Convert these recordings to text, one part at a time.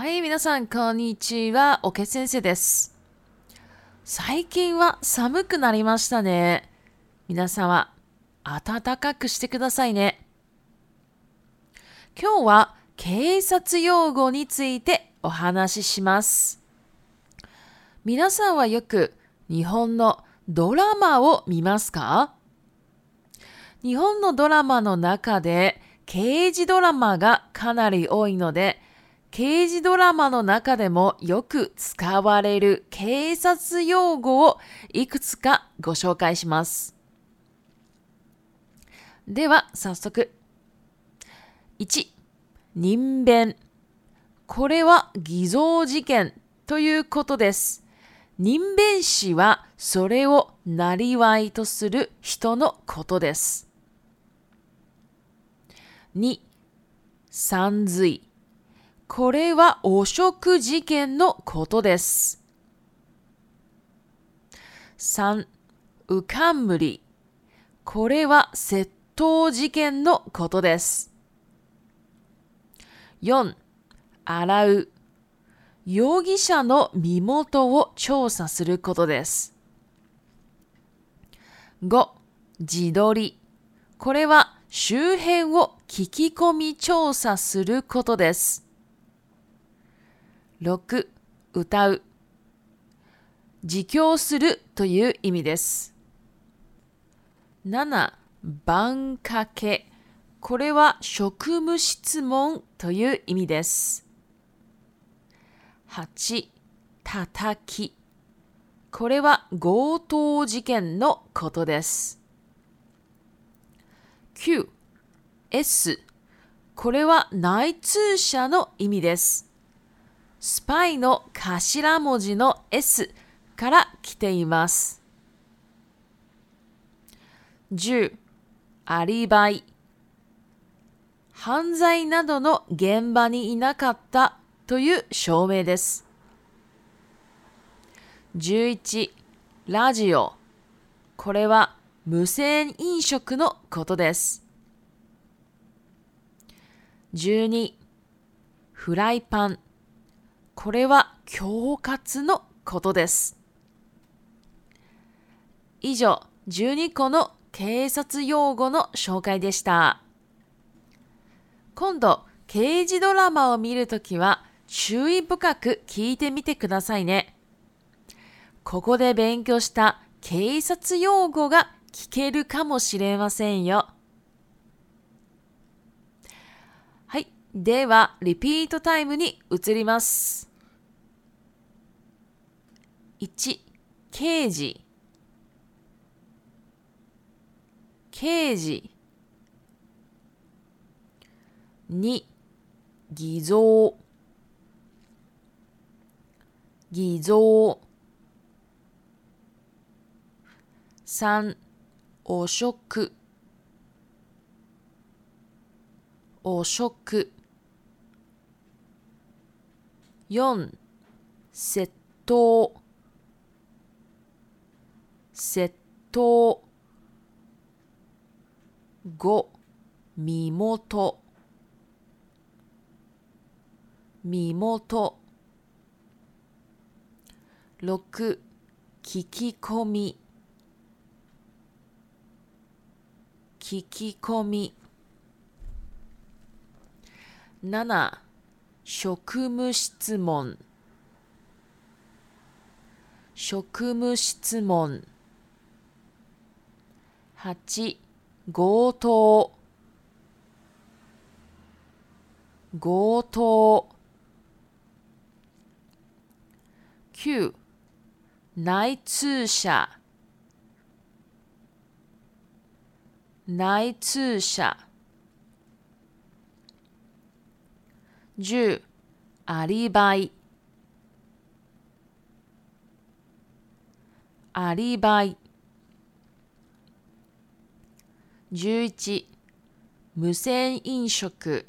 はい、皆さん、こんにちは。おけ先生です。最近は寒くなりましたね。皆さんは暖かくしてくださいね。今日は警察用語についてお話しします。皆さんはよく日本のドラマを見ますか？日本のドラマの中で刑事ドラマがかなり多いので、刑事ドラマの中でもよく使われる警察用語をいくつかご紹介します。では早速。1、人弁。これは偽造事件ということです。人弁師はそれを生りとする人のことです。2、散髄。これは汚職事件のことです。3、うかんむり。これは窃盗事件のことです。4、洗う。容疑者の身元を調査することです。5、自撮り。これは周辺を聞き込み調査することです。6、歌う。自供するという意味です。7、番かけ。これは職務質問という意味です。8、叩き。これは強盗事件のことです。9、S。これは内通者の意味です。スパイの頭文字の S から来ています。10、アリバイ。犯罪などの現場にいなかったという証明です。11、ラジオ。これは無銭飲食のことです。12、フライパン。これは恐喝のことです。以上、12個の警察用語の紹介でした。今度、刑事ドラマを見るときは注意深く聞いてみてくださいね。ここで勉強した警察用語が聞けるかもしれませんよ。はい。では、リピートタイムに移ります。1、刑事。刑事。2、偽造。偽造。3、汚職。汚職。4、窃盗。窃盗。5、身元。身元。6、聞き込み。聞き込み。7、職務質問。職務質問。8、強盗。強盗。9、内通者。内通者。10、アリバイ。アリバイ。11、無銭飲食。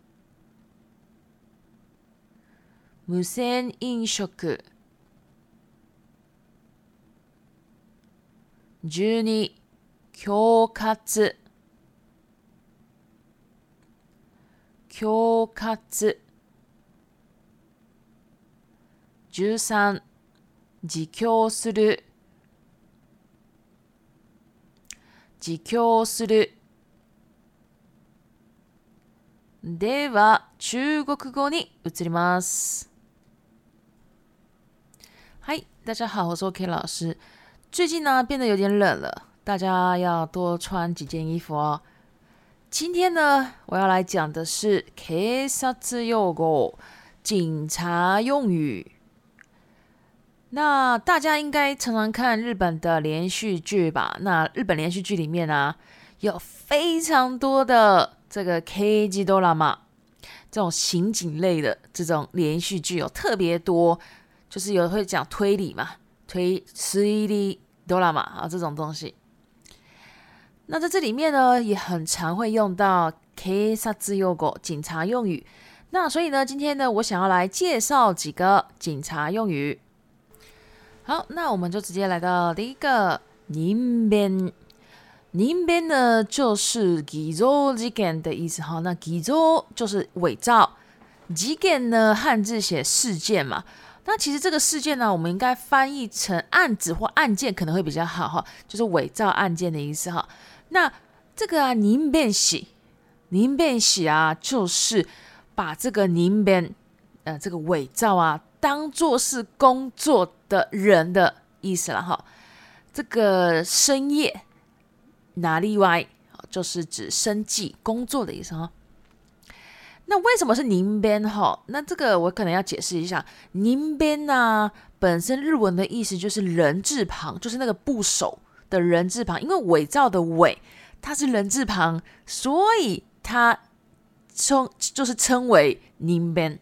無銭飲食。12、恐喝。恐喝。 13自供する自供する。では中国語に移ります。嗨，大家好，我是 OK 老师。最近呢变得有点冷了，大家要多穿几件衣服哦。今天呢，我要来讲的是警察用語，警察用语。那大家应该常常看日本的连续剧吧？那日本连续剧里面啊，有非常多的这个 K 级ドラマ，这种刑警类的这种连续剧有特别多，就是有会讲推理嘛，推理ドラマ啊这种东西。那在这里面呢，也很常会用到 警察用語，警察用语。那所以呢，今天呢，我想要来介绍几个警察用语。好，那我们就直接来到第一个人弁。人弁呢就是偽造事件的意思哈。那偽造就是伪造，事件呢汉字写事件嘛。那其实这个事件呢，我们应该翻译成案子或案件可能会比较好哈，就是伪造案件的意思哈。那这个啊，人弁士啊，就是把这个人弁这个伪造啊，当作是工作的人的意思了哈。这个深夜拿例外，就是指生计工作的意思哈。那为什么是人弁哈？那这个我可能要解释一下，人弁啊，本身日文的意思就是人字旁，就是那个部首的人字旁，因为伪造的伪它是人字旁，所以它就是称为人弁。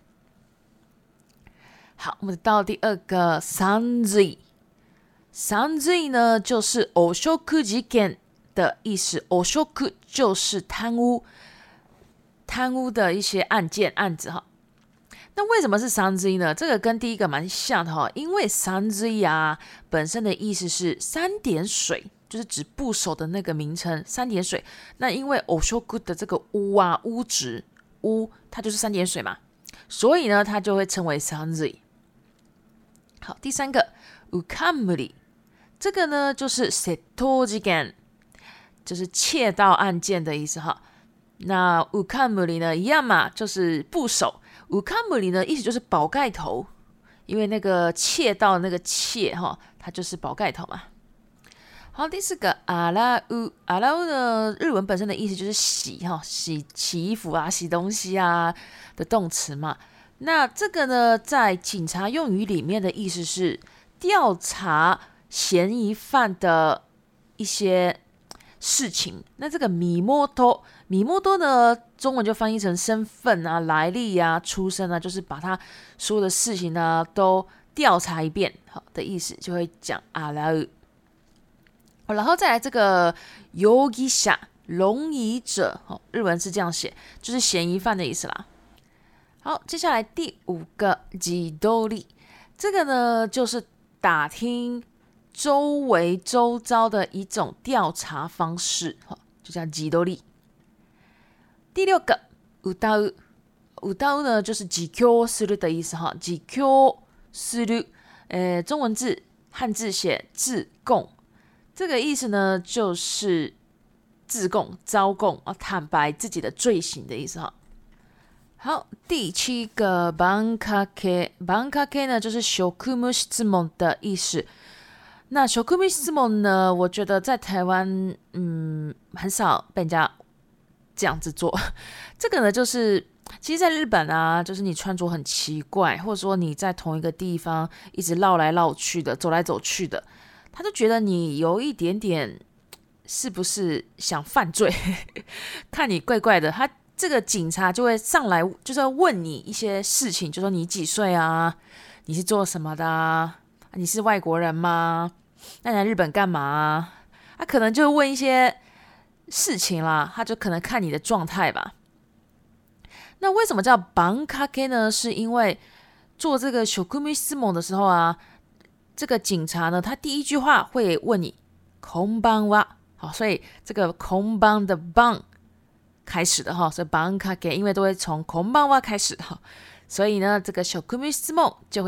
好，我们到第二个散水。散水呢，就是汚職事件的意思。汚職就是贪污的一些案子哈。那为什么是散水呢？这个跟第一个蛮像的哈，因为散水啊本身的意思是三点水，就是指部首的那个名称三点水。那因为汚職的这个污啊污质污，它就是三点水嘛，所以呢它就会称为散水。好，第三个うかんむり，这个呢就是窃盗事件，就是窃盗案件的意思哈。那うかんむり呢一样嘛，就是部首。うかんむり呢意思就是宝盖头，因为那个窃盗那个窃哈，它就是宝盖头嘛。好，第四个洗う，洗う呢日文本身的意思就是洗哈，洗衣服啊，洗东西啊的动词嘛。那这个呢，在警察用语里面的意思是调查嫌疑犯的一些事情。那这个身元呢，中文就翻译成身份啊、来历啊、出身啊，就是把他所有的事情呢都调查一遍，好的意思就会讲洗う。然后再来这个容疑者，容疑者，日文是这样写，就是嫌疑犯的意思啦。好，接下来第五个地取り，这个呢就是打听周围周遭的一种调查方式，就叫地取り。第六个歌う，歌う呢就是自供する的意思哈，自供する，中文字汉字写自供，这个意思呢就是自供、招供啊，坦白自己的罪行的意思哈。好，第七个番掛け，番掛け呢就是職務質問的意思。那職務質問呢，我觉得在台湾很少被人家这样子做。这个呢就是其实在日本啊，就是你穿着很奇怪，或者说你在同一个地方一直绕来绕去的，走来走去的，他就觉得你有一点点是不是想犯罪，看你怪怪的，他这个警察就会上来，就是要问你一些事情，就说你几岁啊？你是做什么的啊？你是外国人吗？那你来日本干嘛啊？他可能就问一些事情啦，他就可能看你的状态吧。那为什么叫番掛け呢？是因为做这个職務質問的时候啊，这个警察呢，他第一句话会问你こんばんは，好，所以这个こんばん的番开始的哈，所以番掛け因为都会从こんばんは开始哈，所以呢，这个職務質問就会叫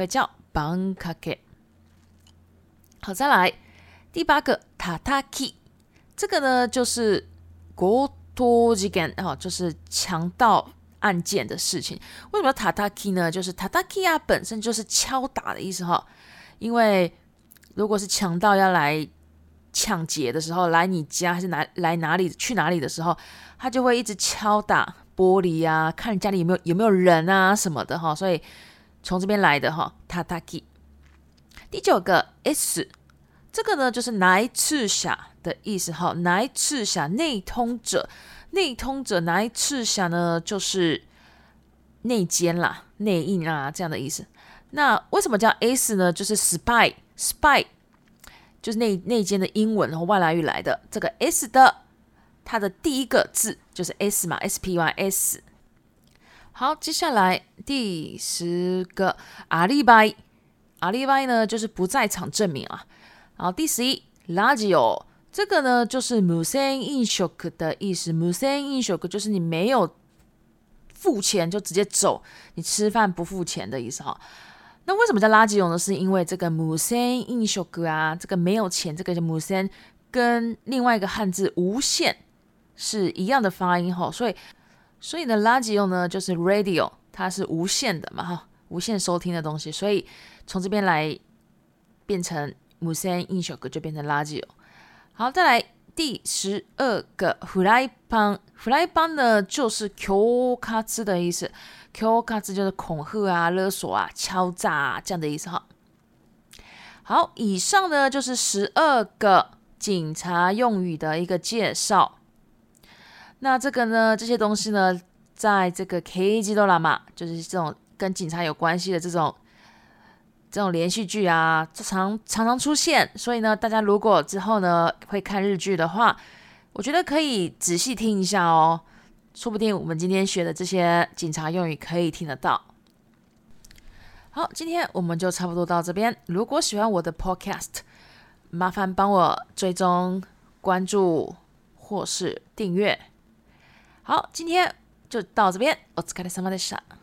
バンかけ。好，再来第8个叩き，这个呢就是強盗事件就是强盗案件的事情。为什么要叩き呢？就是叩き啊本身就是敲打的意思因为如果是强盗要来抢劫的时候，来你家还是来哪里去哪里的时候，他就会一直敲打玻璃啊，看家里有没有人啊什么的所以从这边来的叩き。第9个 S， 这个呢就是内通者的意思内通者内通者，内通者内通者呢就是内奸啦、内应啊这样的意思。那为什么叫 S 呢？就是 spy 就是内奸的英文外来语来的。这个 S 的它的第一个字就是 S 嘛 SPY。好，接下来第10个アリバイ，アリバイ呢就是不在场证明啊。然后第11ラジオ，这个呢就是無銭飲食的意思。無銭飲食就是你没有付钱就直接走，你吃饭不付钱的意思那为什么叫ラジオ呢？是因为这个無銭飲食啊，这个没有钱，这个叫無銭，跟另外一个汉字无限是一样的发音所以呢ラジオ呢就是 radio， 它是无限的嘛无限收听的东西，所以从这边来变成無銭飲食就变成ラジオ。好，再来第12个フライパン，フライパン呢就是恐喝的意思，恐喝就是恐吓啊、勒索啊、敲诈啊这样的意思好，以上呢就是12个警察用语的一个介绍。那这个呢，这些东西呢，在这个 K ドラマ，就是这种跟警察有关系的这种连续剧啊，常常出现。所以呢，大家如果之后呢会看日剧的话，我觉得可以仔细听一下说不定我们今天学的这些警察用语可以听得到。好，今天我们就差不多到这边。如果喜欢我的 podcast， 麻烦帮我追踪、关注或是订阅。好，今天就到这边。お疲れ様でした。